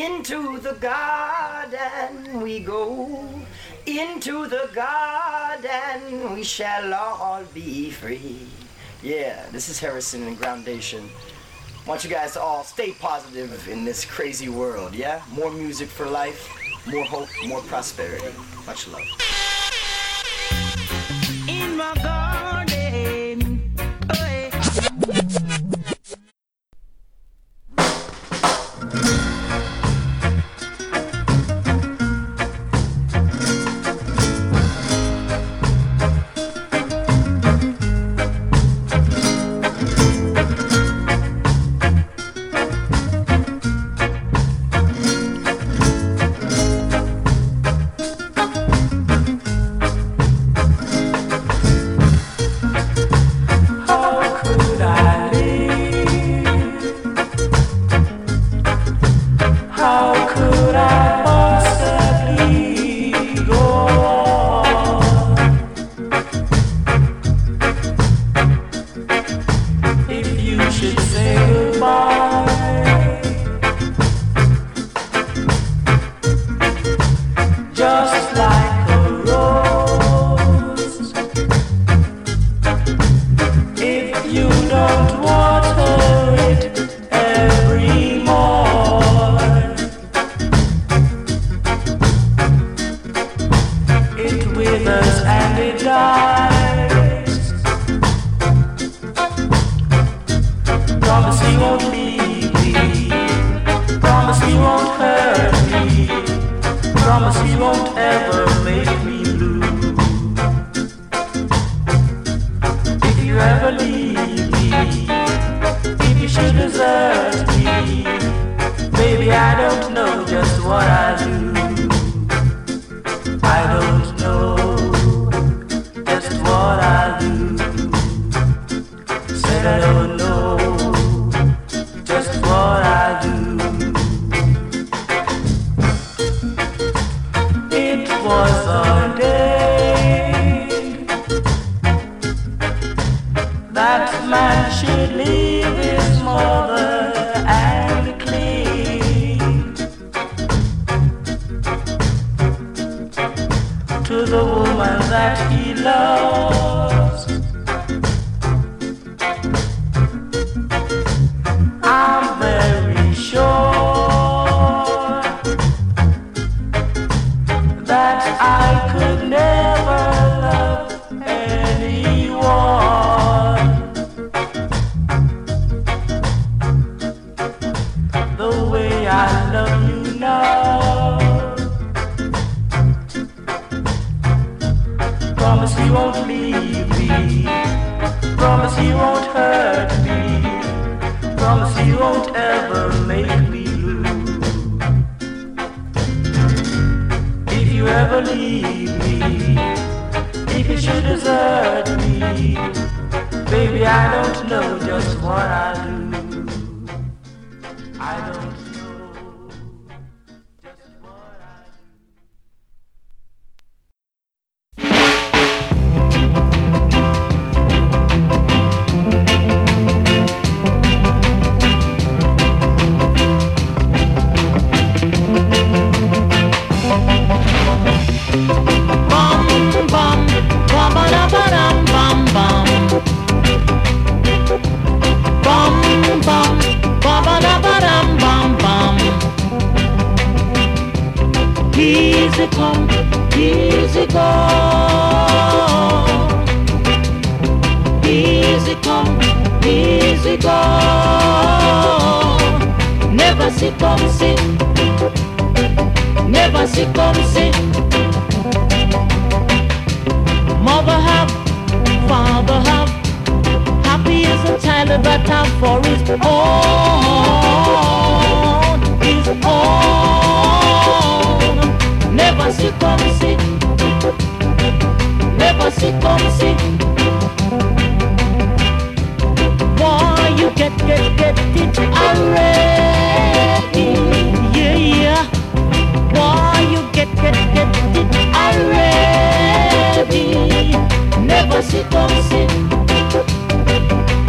Into the garden we go. Into the garden we shall all be free. Yeah, this is Harrison and Groundation. I want you guys to all stay positive in this crazy world, yeah? More music for life, more hope, more prosperity. Much love. In my garden, oh yeah.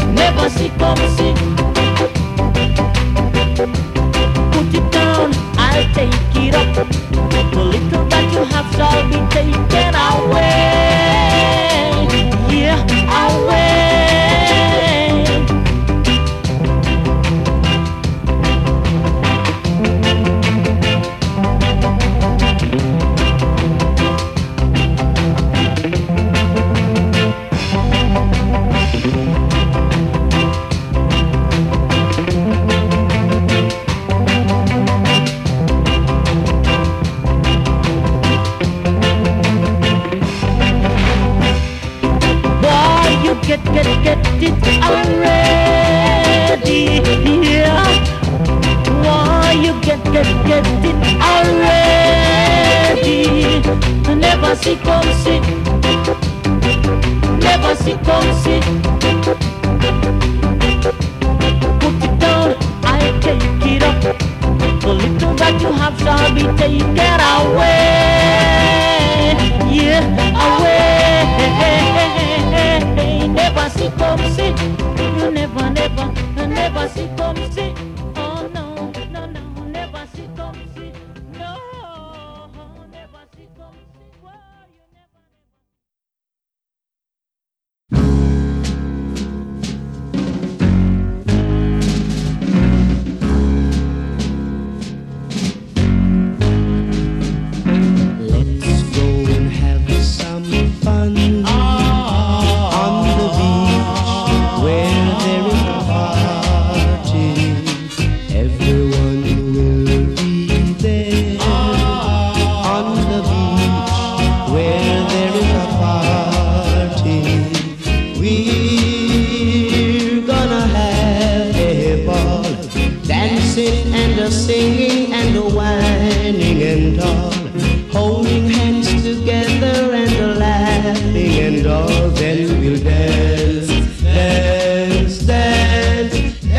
Put it down, I never see come see. Put it down, I'll take it up. The little that you have shall be taken away. Yeah, away. Never see come see. You never, never, never see come see. Oh no, no, no, never see come see. No, never see come see. Whoa, you never, Let's go and have some fun on the beach where there is a party. Everyone will be there on the beach where there is a party. We're gonna have a ball, dancing and a singing and a whining and all, holding hands together and a laughing and all. Then we'll dance, dance, dance,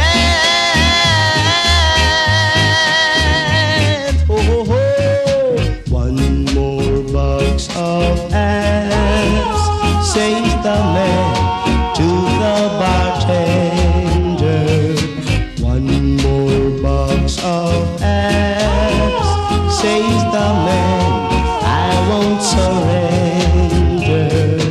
dance. Oh, oh, oh. One more box of apps, says the man to the bartender. One more box of apps, says the man, I won't surrender.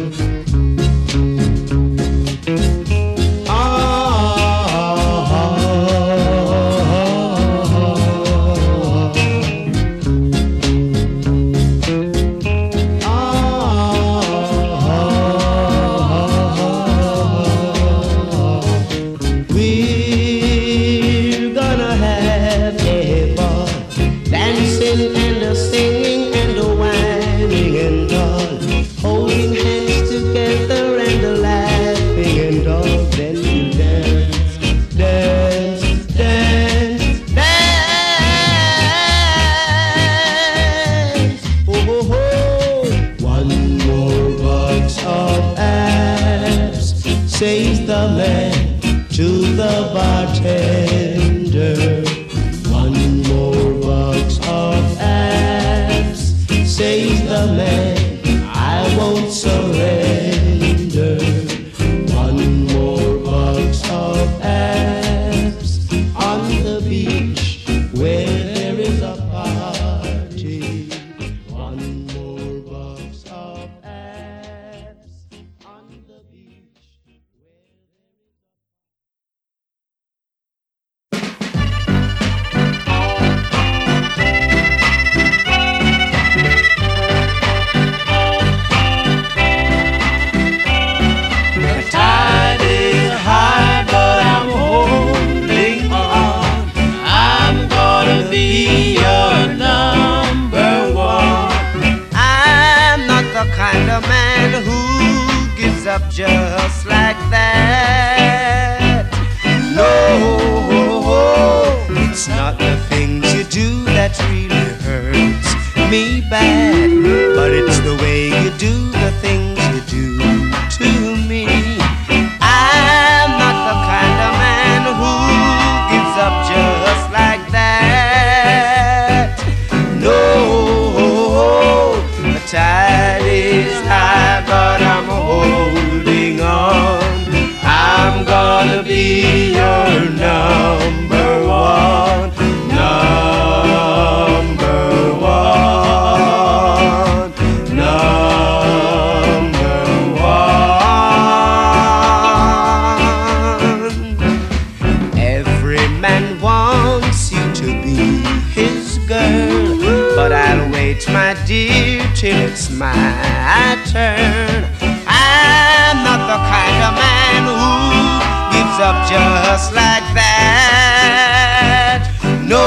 We're gonna have a ball, dancing and a singing and a whining and all, holding hands together and a laughing and all. Then we'll dance, dance, dance, dance. Oh, oh, oh. One more box of apps, says the man to the bartender. One more box of apps, says the man, I won't surrender. One more box of apps on the beach where there is a party. One more box of apps on the beach where The tide is high, but I'm holding on. I'm gonna be your number one. I'm not the kind of man who gives up just like that. No, it's not the things you do that really hurts me bad, but it's the way you do the things you do to me. I'm not the kind of man who gives up just like that. No, the tide is high, but I'm holding on. I'm gonna be your number one, number one, number one. Every man wants you to be his girl, but I'll wait, my dear, till it's my turn. I'm not the kind of man who gives up just like that. No.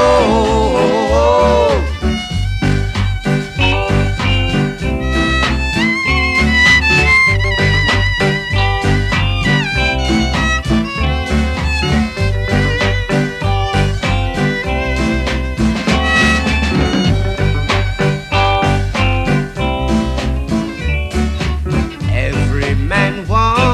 Every man wants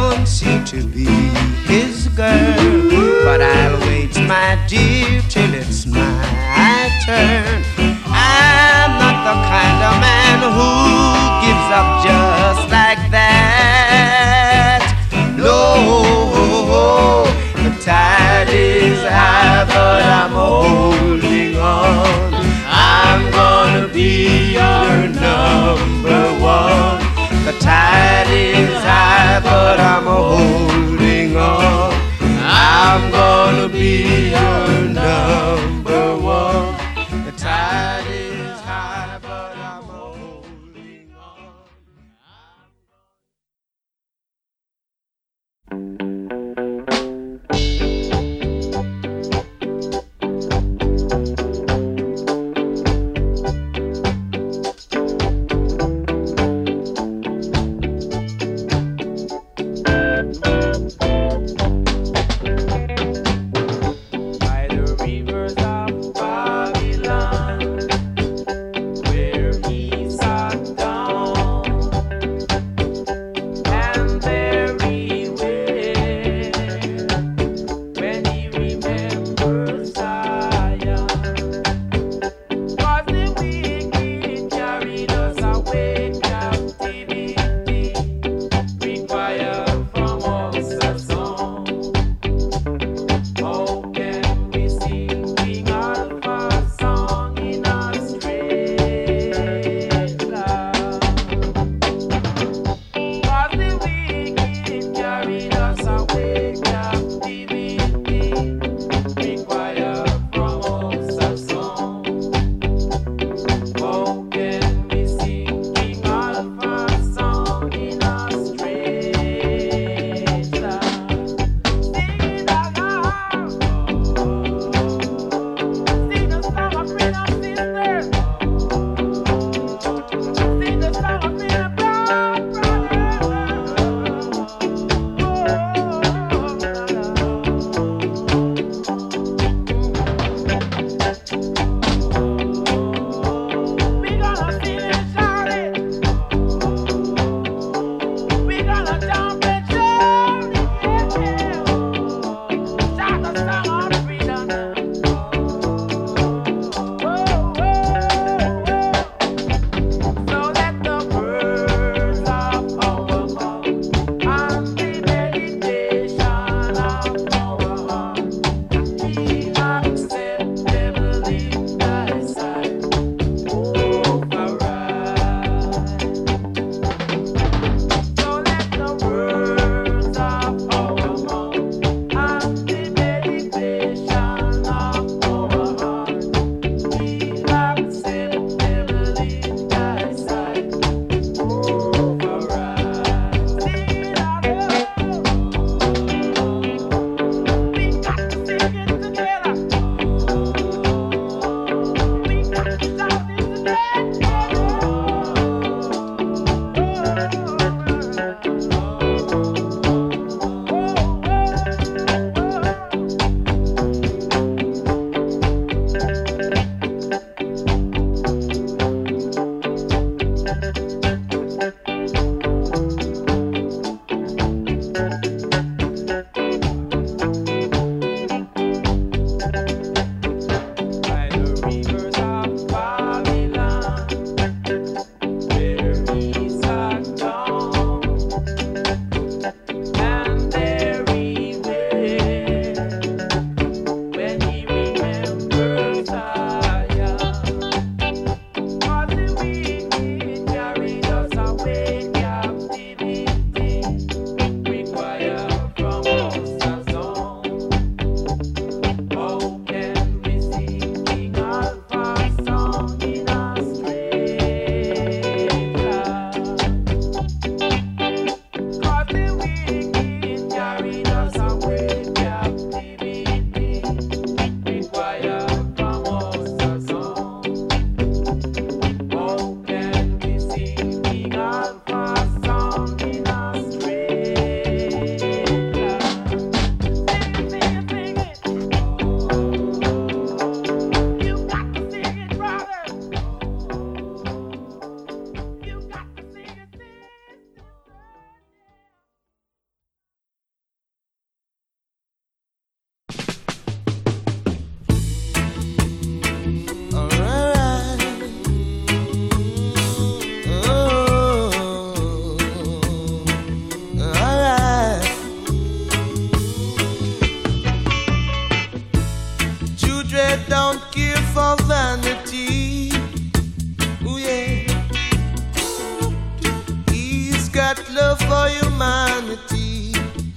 got love for humanity,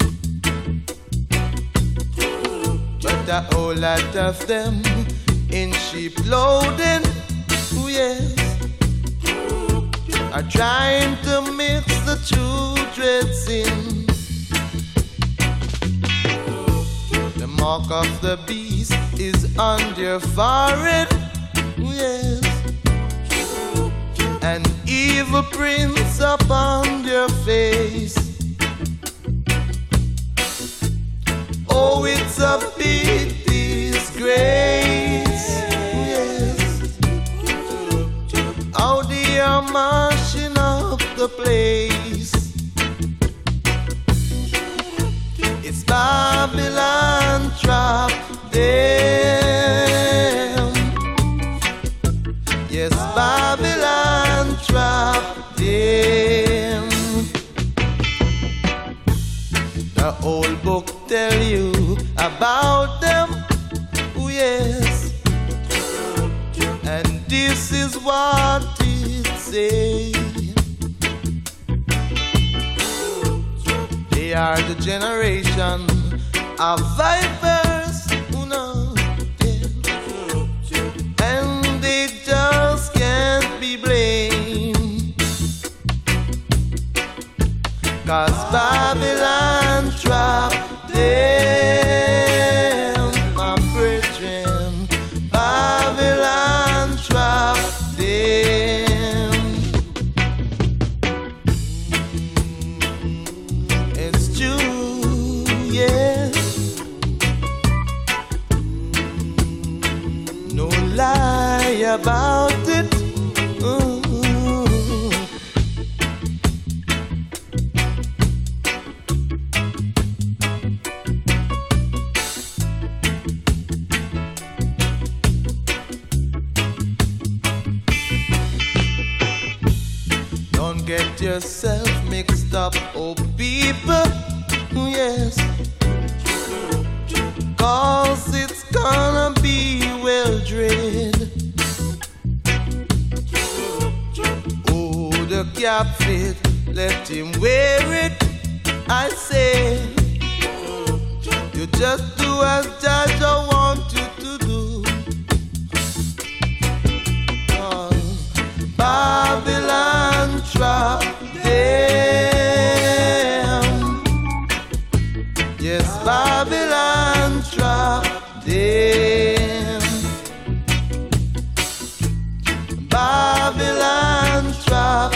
but a whole lot of them in sheep clothing, oh yes, are trying to mix the children's sin. The mark of the beast is on their forehead, oh yes, and evil prints upon their face. Oh, it's a big disgrace, yes, how they are mashing up the place. It's Babylon trap them. Yes, Babylon trap them. The old book tell you about them, oh yes, and this is what it says. They are the generation of vipers, who know, yeah, and they just can't be blamed, 'cause Babylon trapped them, my brethren. Babylon trapped them. It's true, yes, no lie about it. Don't get yourself mixed up, oh people, yes, 'cause it's gonna be well dread. Oh, the cap fit, let him wear it, I say. You just do as Judge want you to do. Babylon trap them. Yes, Babylon trap them. Babylon trap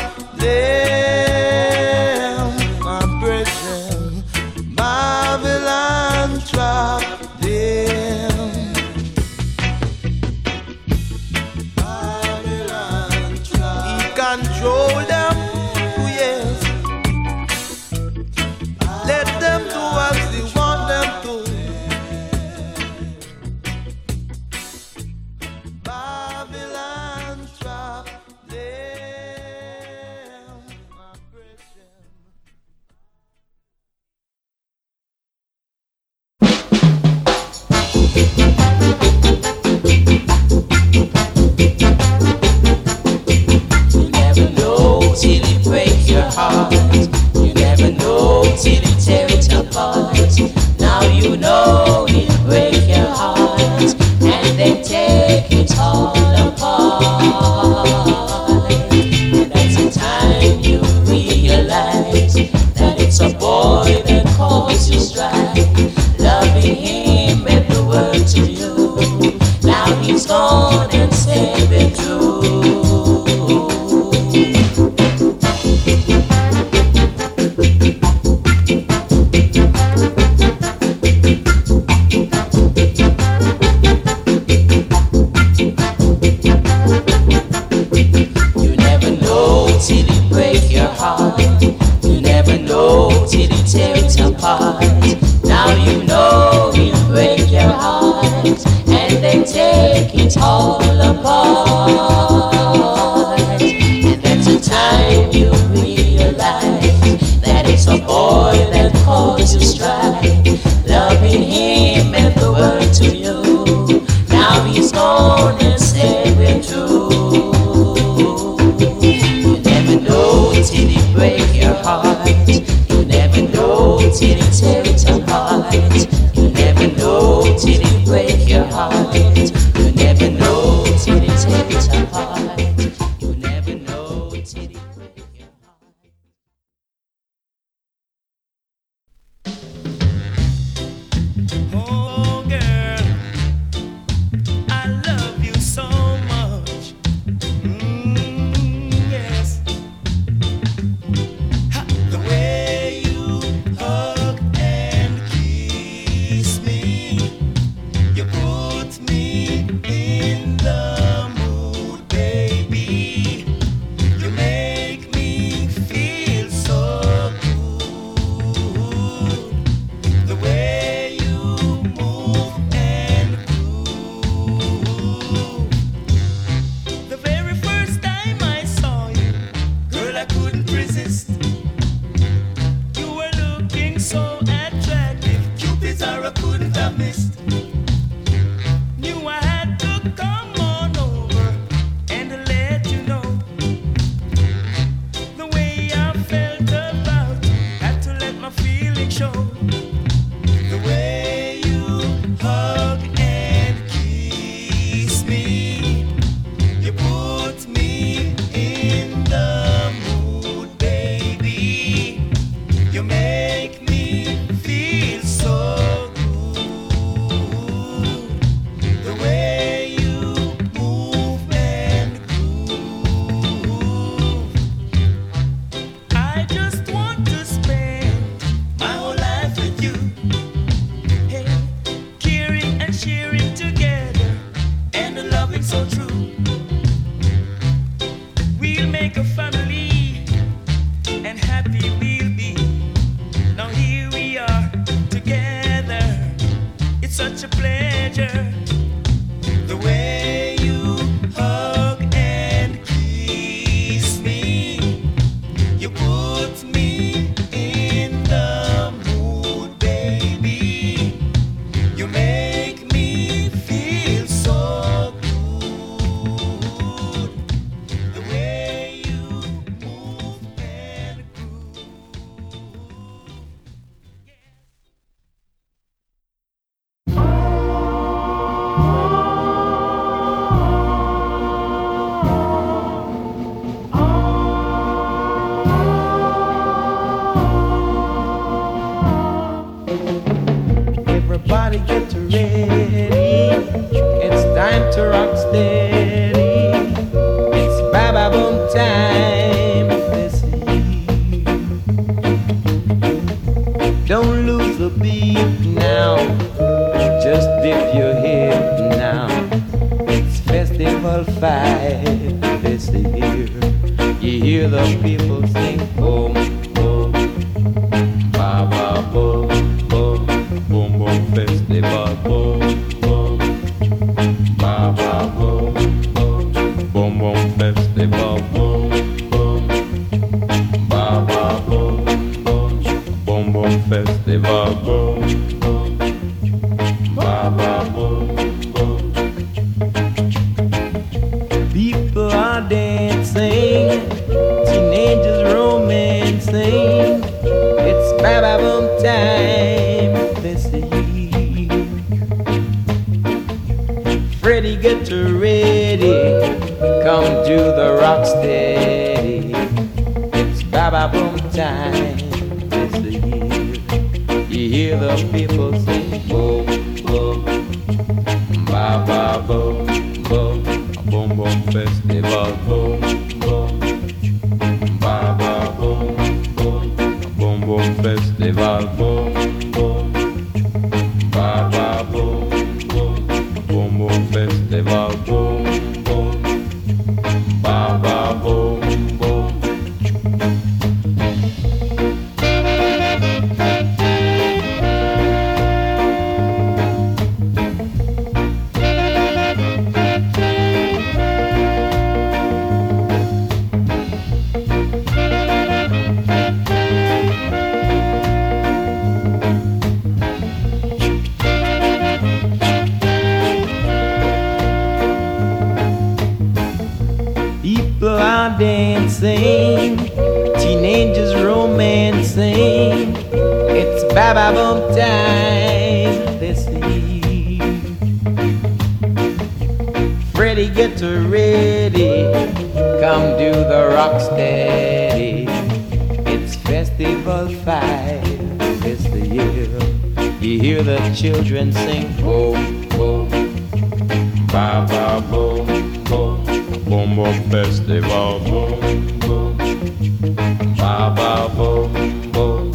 them, my brethren. Babylon trap them. Babylon trap. He control them, oh yes. Let them do as he want them to. Babylon trap them, my brethren. You never know till it breaks your heart. You never know till it tears your apart. Now you know it break your heart, and then take it all apart. And that's the time you realize that it's a boy that caused you strife. Loving him meant the world to you. Now he's gone and said the truth. You never know till it break your heart. You never know till it tears apart. Now you know it'll break your heart, and then take it all apart. And that's the time you realize that it's a boy that caused you strife. Loving him meant the world to you. Now he's gone and said we're through. You never know till it break your your heart. You never know till it tear it apart. You never know till it break your heart. You never know till it tear it apart. You never know till it break your heart. Oh girl, I love you so much. Yes. The way you hug and kiss me, you put me in the mood, baby. You make me feel so good. The way you move and groove. The very first time I saw you, girl, I couldn't resist. You were looking so attractive, Cupid's arrow couldn't have missed. Knew I had to come on over and let you know the way I felt about you. Had to let my feelings show. The way you hug and kiss me, you put me in the mood, baby. You make me feel so good. The way you move and groove. I just want to spend my whole life with you. Hey, caring and sharing together, and a loving so true. We'll make a family, and happy we'll be. Now here we are together. It's such a pleasure. The way you hug and kiss me, you put me in the mood, baby. You make me feel so good. The way you move and groove. Everybody get ready. It's time to rock steady. It's Baba Boom time this year. Don't lose the beat now. Just dip your head now. It's Festival 5 this year. You hear the people sing boom, boom, Baba boom, boom, boom, boom festival, boom, boom, Baba boom, boom, boom, boom festival, boom, boom, Baba boom, boom, boom, boom festival, boom, boom, Baba boom, boom. People are dancing, teenagers romancing. It's Baba Boom time this year. Freddie, get ready. Come to the rock steady. It's Baba Boom time this year. You hear the people sing boom, boom, Baba boom, boom, boom, boom festival, boom, boom, Baba boom, boom, boom, boom festival, boom, boom, Baba boom, boom, boom, boom festival, boom, boom, Baba boom, boom. Ba-ba-boom time this eve. Freddie, get ready, come do the rock steady. It's Festival 5 this the year. You hear the children sing boom, boom, ba-ba-boom, boom, boom, boom, festival, boom, boom, ba-ba-boom, boom.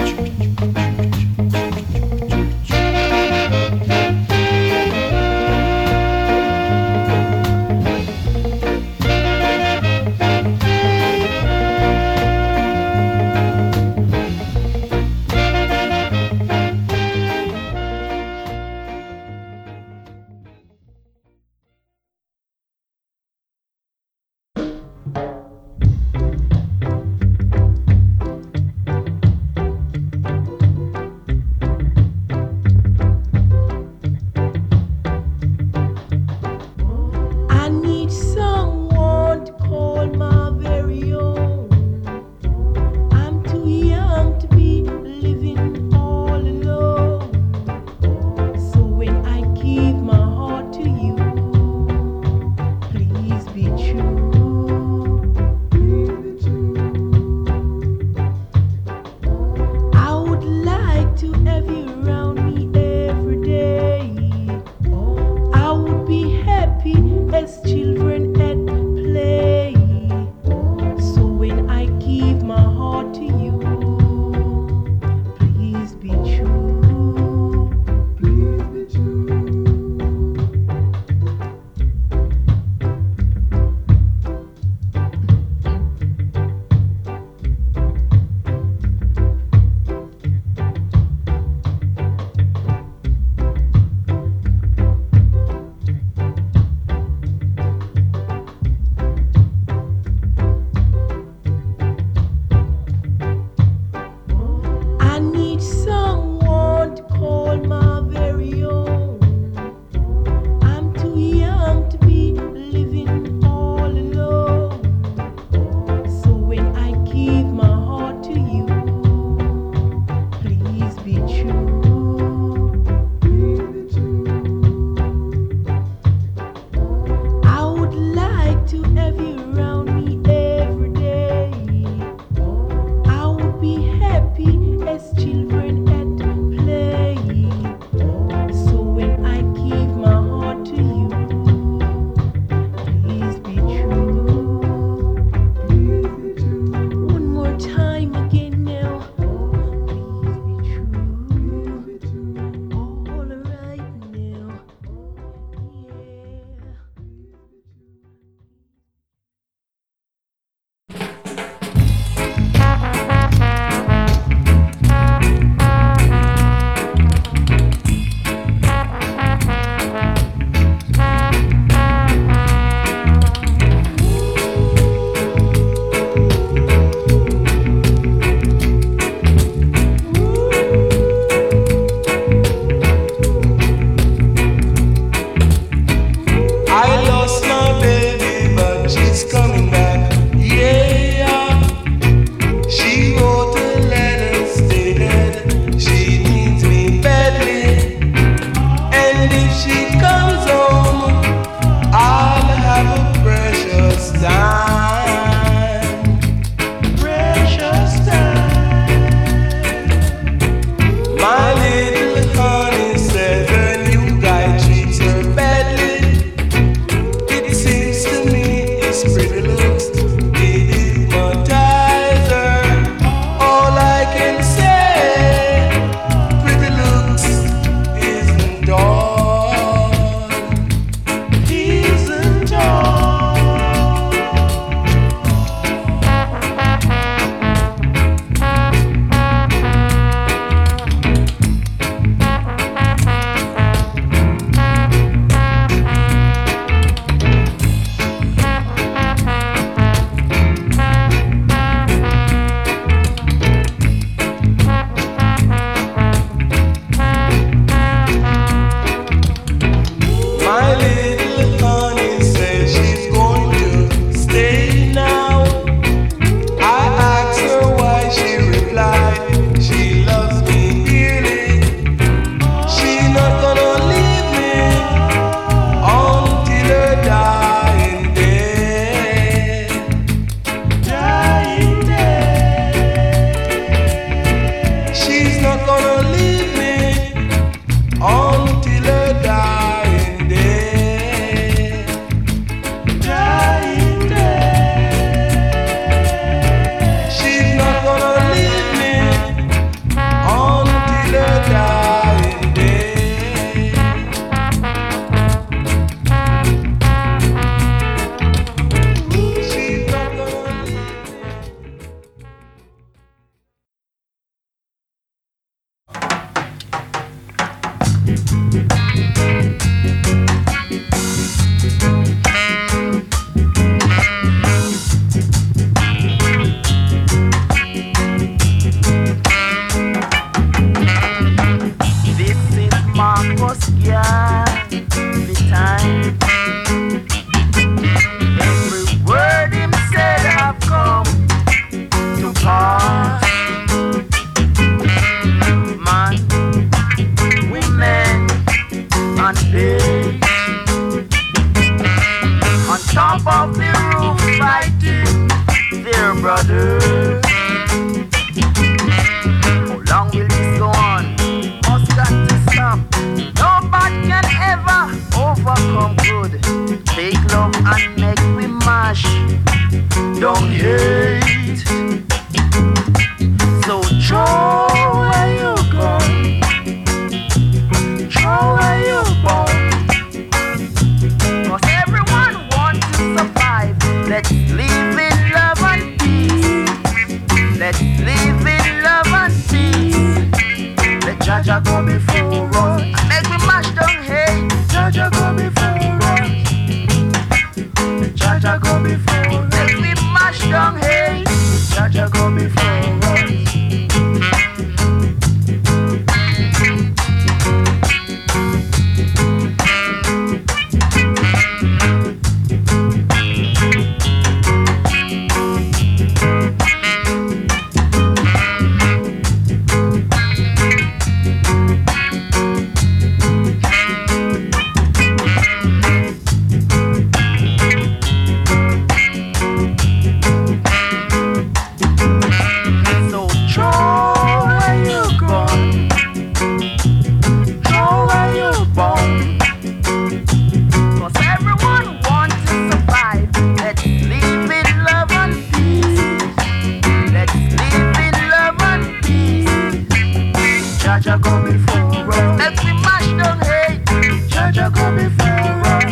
Jaja go before us. Let me mash down hate. Jaja go before us.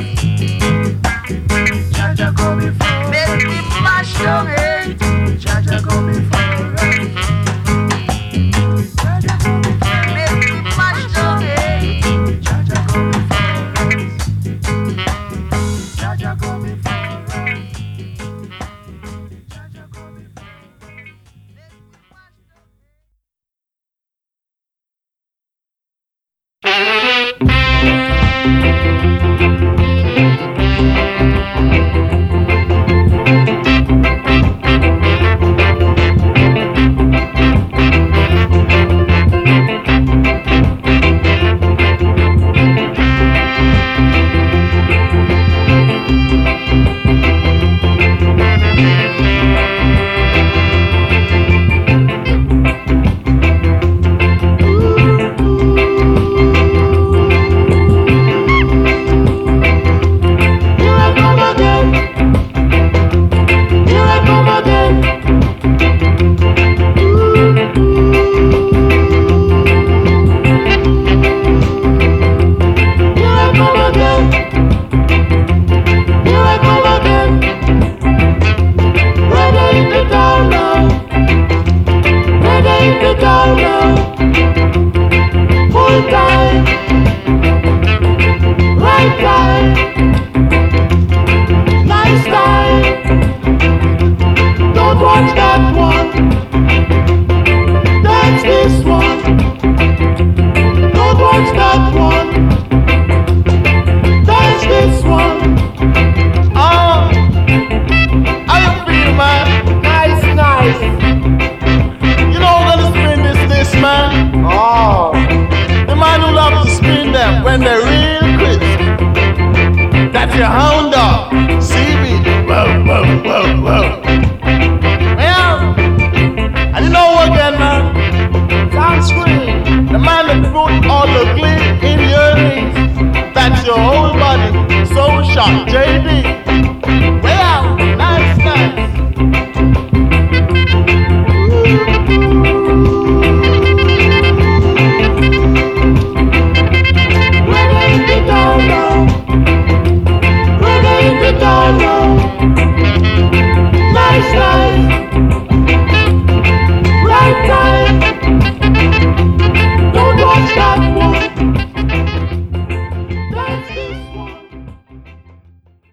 Jaja go before us. Let me mash down hate. Jaja go before us. Jaja go before us. Let me mash down hate. Jaja go before us. Jaja go before us. Jaja go before us. When they're real crisp, that's your hound dog, seaweed. Whoa, whoa, whoa, whoa. Well, and you know what, again, man? Sound screen. The man that put all the glee in your ears, that's your whole body. So sharp, JD. Well, nice, nice. Nice, nice. Right time. Don't watch that one. That's this one.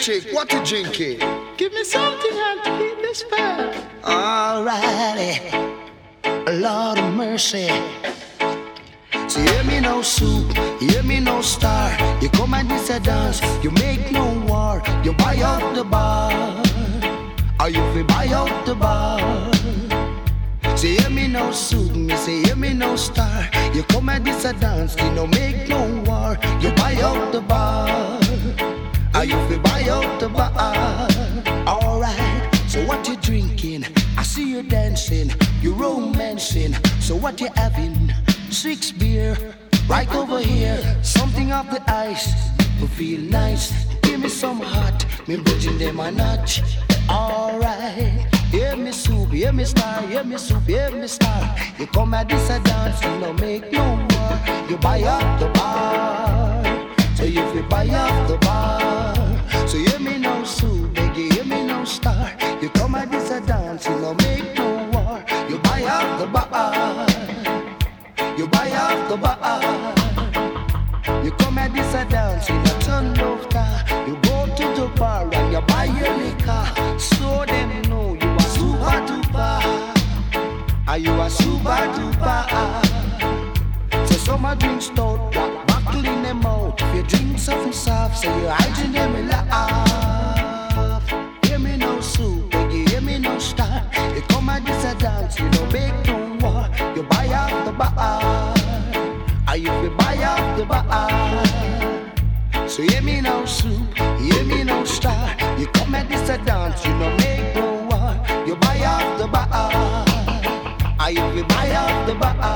Chick, what you drinking? Give me something and to keep this fair. Alrighty, Lord of mercy. So hear me no soup, hear me no star. You come and this a dance, you make no war. You buy out the bar, or you fi buy out the bar. So hear me no soup, me say hear me no star. You come and this a dance, you no make no war. You buy out the bar, or you fi buy out the bar. Alright, so what you drinking? I see you dancing, you romancing. So what you having? 6 beer, right over here. Something off the ice, will feel nice. Give me some hot, me bridging them a notch. Alright, hear me soup, hear me star, hear me soup, hear me star. You come at this a dance, you no make no more. You buy up the bar, so you fi buy up the bar. So hear me no soup, baby, hear me no star. You come at this a dance, you no make no war. You buy up the bar, you buy up the bar. You come at this a dance in a ton of car. You go to the bar and you buy your liquor. So them know you are super duper. Are you a super duper? So some a drink stout, buckle in them out. If you drink something soft, so you hiding them in laugh. Hear me no soup, baby, hear me no star. You come at this a dance, you don't make no war. You buy out the bar, or you fi buy out the bar. So hear me no soup, hear me no star. You come at this a dance, you don't make no war. You buy out the bar, or you fi buy out the bar.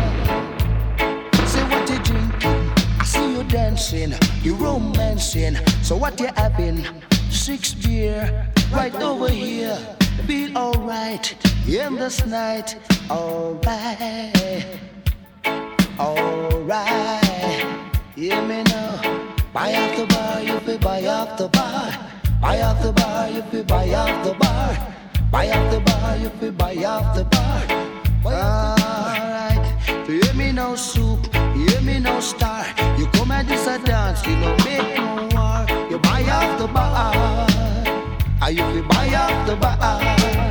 Say what you drinking, I see you dancing, you romancing. So what you having? 6 beer, right over here. Feel alright in this night. Alright, alright. Hear me now. Buy off the bar, you fi buy off the bar. Buy off the bar, you fi buy off the bar. Buy off the bar, you fi buy off the bar. Alright, so hear me no soup, hear me no star. You come at this a dance, you no make no war. You buy off the bar, or you fi buy off the bar.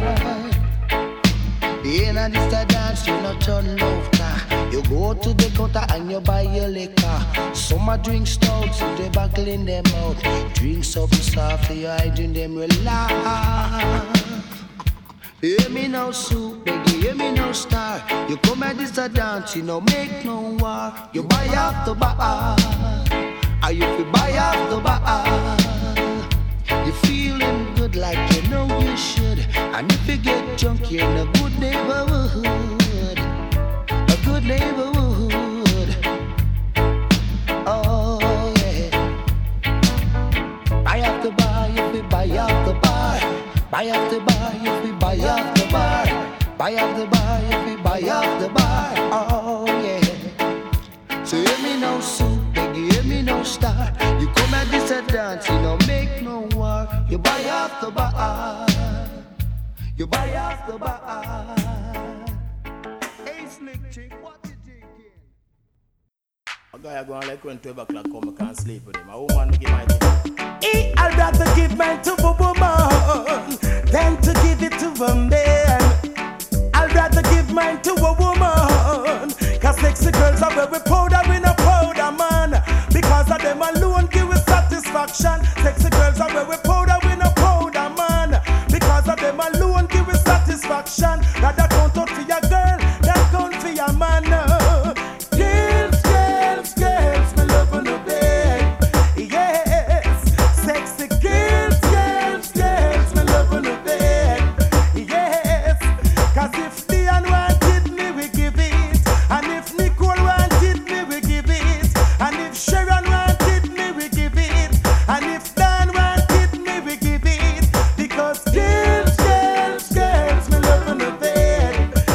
In a this a dance, you no turn laughter. You go to the counter and you buy your liquor. Some a drink stout, so they buckle in them out. Drink something soft, you hiding them relax. Hear me no soup, baby, hear me no star. You come at this a dance, you no make no war. You buy off the bar, or you fi buy off the bar. You feeling good like you know you should. And if you get drunk, you're in a good neighborhood. A good neighborhood. Oh yeah. Buy off the bar, you fi buy off the bar. Buy off the bar, you fi buy off the bar. Buy off the bar, you fi buy off the bar. Oh yeah. So hear me no soup, baby, hear me no star. You come at this a dance, you don't make no war. You buy off the bar, you buy off the bar. Hey Slick Chick, what you thinking? A guy go on like when 12 o'clock come, I can't sleep with him. A woman give my thing. I'd rather give mine to a woman than to give it to a man. I'd rather give mine to a woman, cause sexy girls are very powder, we no powder man. Because of them alone give us satisfaction. Sexy girls are very powder, we no powder man. Because of them alone give us satisfaction. Rather count out for your girl than count for your man. Girls, girls, girls, me love on the bed. Yes, sexy girls, girls, girls, me love on the bed. Yes, cause if Dion wanted me, we give it. And if Nicole wanted me, we give it. And if Sharon wanted me, we give it. And if Dan wanted me, we give it. Because girls, girls, girls, me love on the bed.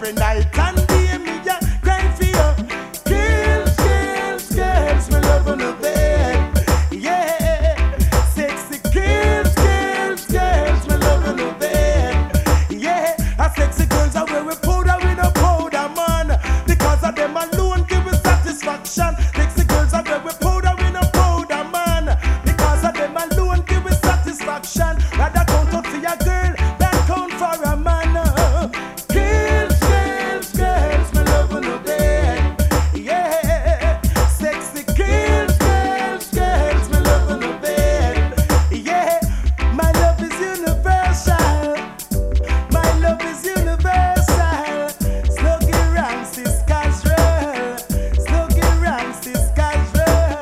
every night and day me a cry for you. Girls, girls, girls, me love on the bed. Yeah, sexy girls, girls, girls, me love on the bed. Yeah, a sexy girls are wearing powder with a powder man. Because of them alone give me satisfaction. Sexy girls are wearing powder with a powder man. Because of them alone give me satisfaction. Rather count up for your girl than count for a man. Girls, girls, girls, me love on the bed. Yeah, sexy girls, girls, girls, me love on the bed. Yeah, my love is universal. My love is universal. Sluggy around, sis casual. Sluggy around, sis casual.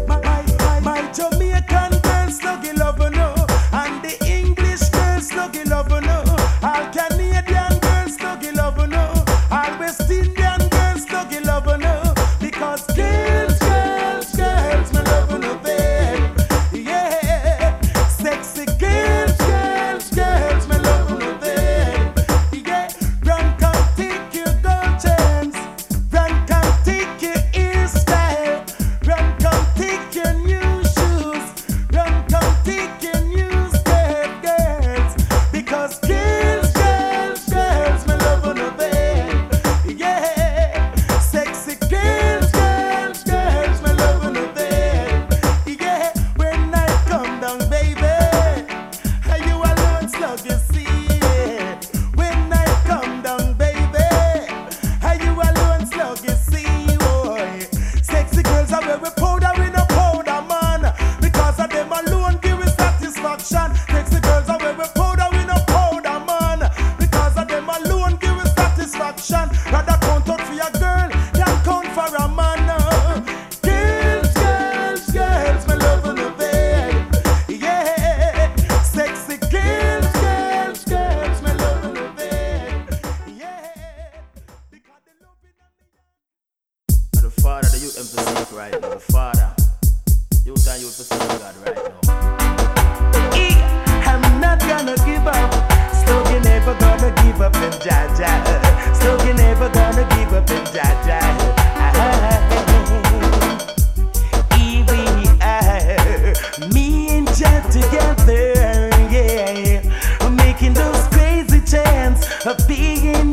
My Jamaican girl, sluggy love no. And the English girl, sluggy love no. All Canadian girls, sluggy love no. All West Indian girls, sluggy love no. Because girls, girls, girls, me love on the bed. Yeah, sexy girls, girls, girls, me love on the bed. Yeah, run come take your gold chains. Run come take your hairstyle. Run come take your new shoes. Run come take your new skirt, girls. Because girls, girls, girls, me love on the bed. Yeah, sexy girls, girls, girls, me love on the bed. Yeah, when I come down, baby, you alone slug you see it. When I come down, baby, you alone slug you see, boy. Sexy girls are wearing powder with no powder man. Because of them alone give me satisfaction. Sexy girls are wearing powder with no powder man. Because of them alone give me satisfaction. Rather count out for your girl than count for a man. Girls, girls, girls, me love on the bed. Yeah, sexy girls, girls, girls, me love on the bed. Yeah, because they love it. The Father, the youth emphasize right now. The Father, youth and youth pursue God right now. I'm not gonna give up. Sluggy never gonna give up in Jaja. Sluggy never gonna give up in Jaja. Me and Jah together, yeah, making those crazy chants of being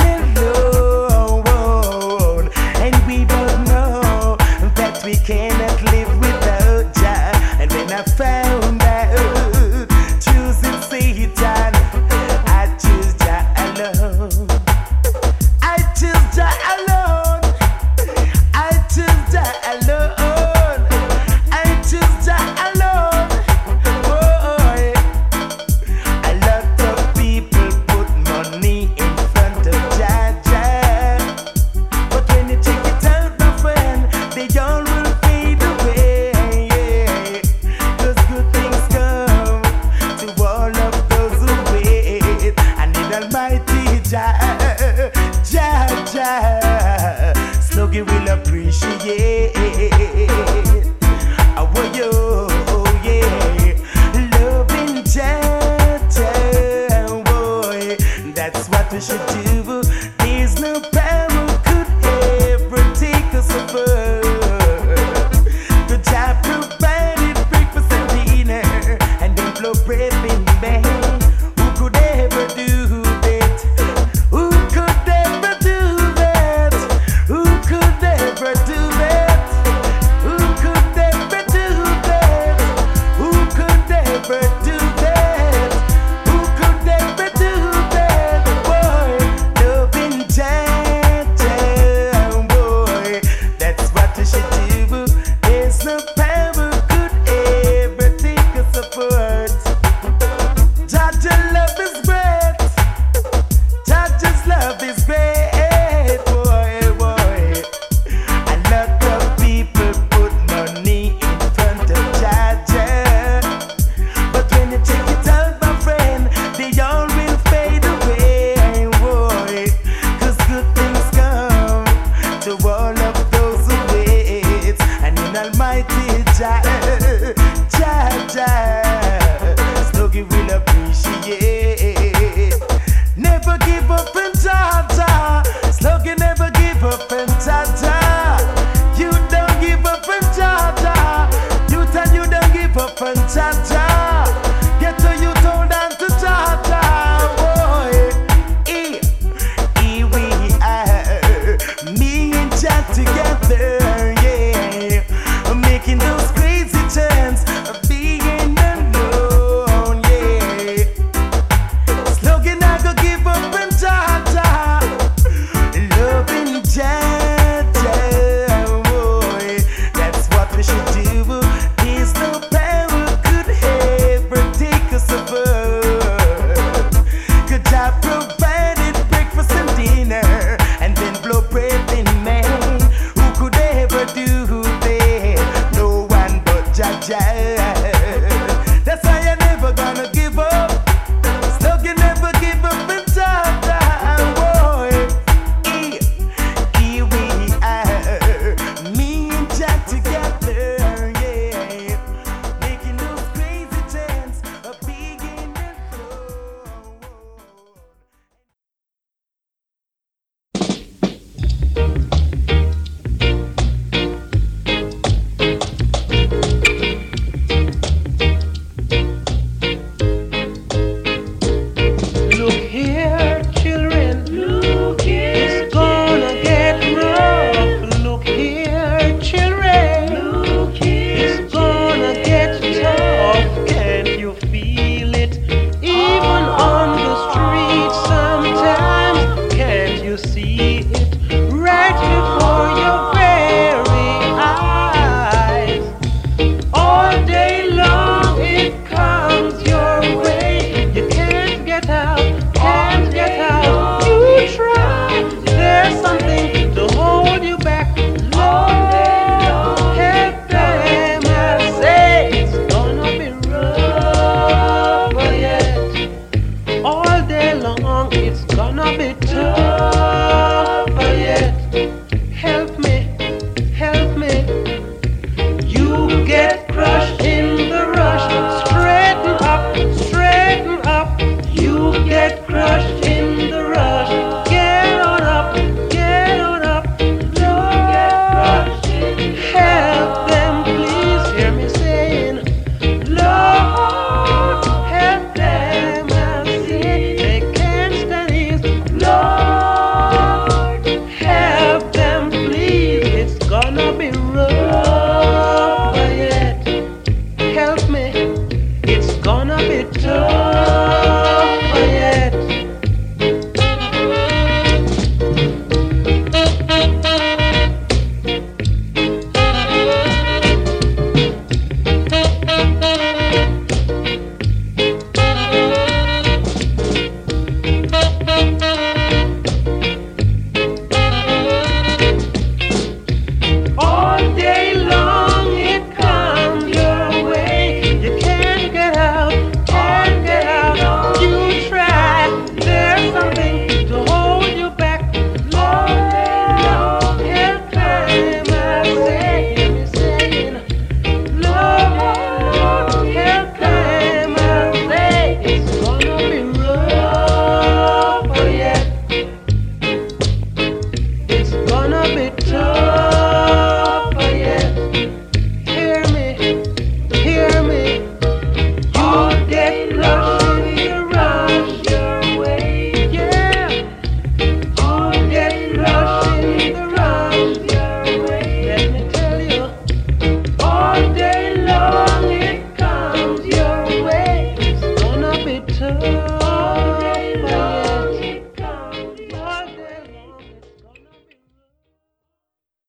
alone. And we both know that we cannot live without Jah. And when I found out choosing Satan, I choose Jah alone. I choose Jah alone. I choose Jah alone. I choose Jah alone. Boy, a lot of people put money in front of Jah Jah. But when you check it out, my friend, they all will fade away. Those good things come to all of those who wait. I need Almighty Jah, Jah, Jah. Sluggy will appreciate. Oh, yo, oh, yeah. Loving Jah, Jah, boy. That's what we should do.